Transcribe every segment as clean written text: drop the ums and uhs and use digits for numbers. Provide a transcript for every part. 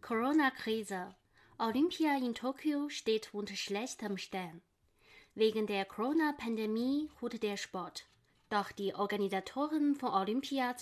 Corona-Krise. Olympia in Tokio steht unter schlechtem Stern. Wegen der Corona-Pandemie ruht der Sport. Doch die Organisatoren von Olympia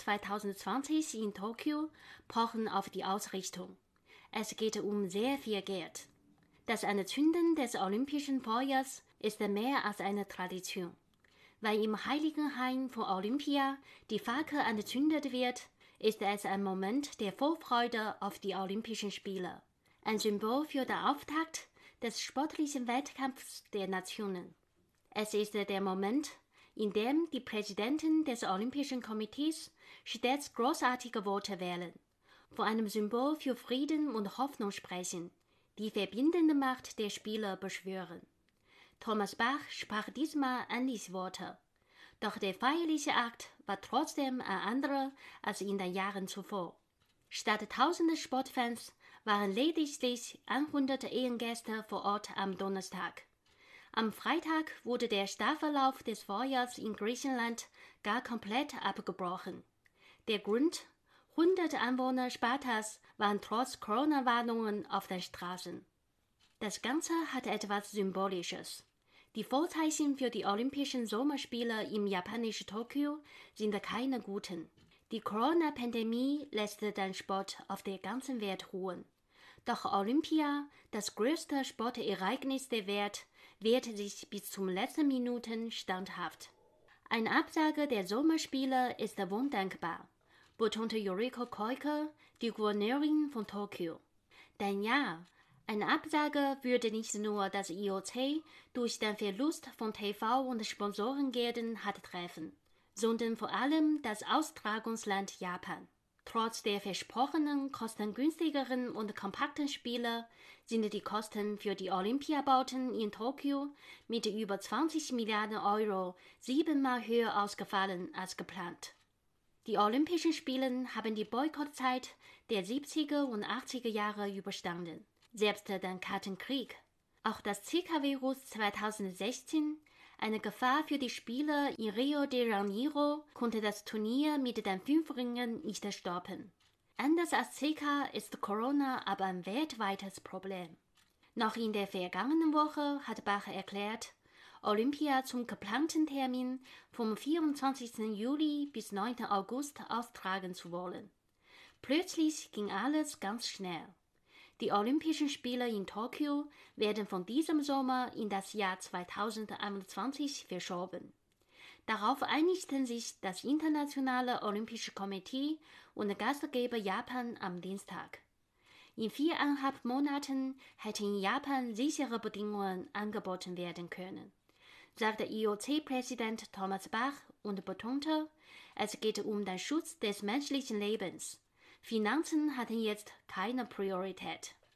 2020 in Tokio pochen auf die Ausrichtung. Es geht um sehr viel Geld. Das Anzünden des olympischen Feuers ist mehr als eine Tradition. Weil im Heiligen Hain von Olympia die Fackel angezündet wird, ist es ein Moment der Vorfreude auf die Olympischen Spiele. Ein Symbol für den Auftakt des sportlichen Wettkampfs der Nationen. Es ist der Moment, in dem die Präsidenten des Olympischen Komitees stets großartige Worte wählen, von einem Symbol für Frieden und Hoffnung sprechen, die verbindende Macht der Spiele beschwören. Thomas Bach sprach diesmal ähnliche Worte. Doch der feierliche Akt war trotzdem ein anderer als in den Jahren zuvor. Statt tausende Sportfans waren lediglich 100 Ehrengäste vor Ort am Donnerstag. Am Freitag wurde der Staffellauf des Vorjahrs in Griechenland gar komplett abgebrochen. Der Grund? 100 Anwohner Spartas waren trotz Corona-Warnungen auf den Straßen. Das Ganze hat etwas Symbolisches. Die Vorzeichen für die Olympischen Sommerspiele im japanischen Tokio sind keine guten. Die Corona-Pandemie lässt den Sport auf der ganzen Welt ruhen. Doch Olympia, das größte Sportereignis der Welt, wehrte sich bis zum letzten Minuten standhaft. Eine Absage der Sommerspiele ist undenkbar, betonte Yuriko Koike, die Gouverneurin von Tokio. Denn ja, eine Absage würde nicht nur das IOC durch den Verlust von TV- und Sponsorengeldern hart treffen, sondern vor allem das Austragungsland Japan. Trotz der versprochenen kostengünstigeren und kompakten Spiele sind die Kosten für die Olympiabauten in Tokio mit über 20 Milliarden Euro 7-mal höher ausgefallen als geplant. Die Olympischen Spiele haben die Boykottzeit der 70er und 80er Jahre überstanden. Selbst den Kalten Krieg. Auch das Zika-Virus 2016, eine Gefahr für die Spiele in Rio de Janeiro, konnte das Turnier mit den 5 Ringen nicht stoppen. Anders als Zika ist Corona aber ein weltweites Problem. Noch in der vergangenen Woche hat Bach erklärt, Olympia zum geplanten Termin vom 24. Juli bis 9. August austragen zu wollen. Plötzlich ging alles ganz schnell. Die Olympischen Spiele in Tokio werden von diesem Sommer in das Jahr 2021 verschoben. Darauf einigten sich das Internationale Olympische Komitee und Gastgeber Japan am Dienstag. In 4,5 Monaten hätten in Japan sichere Bedingungen angeboten werden können, sagte IOC-Präsident Thomas Bach und betonte, es geht um den Schutz des menschlichen Lebens. Finanzen hatten jetzt keine Priorität.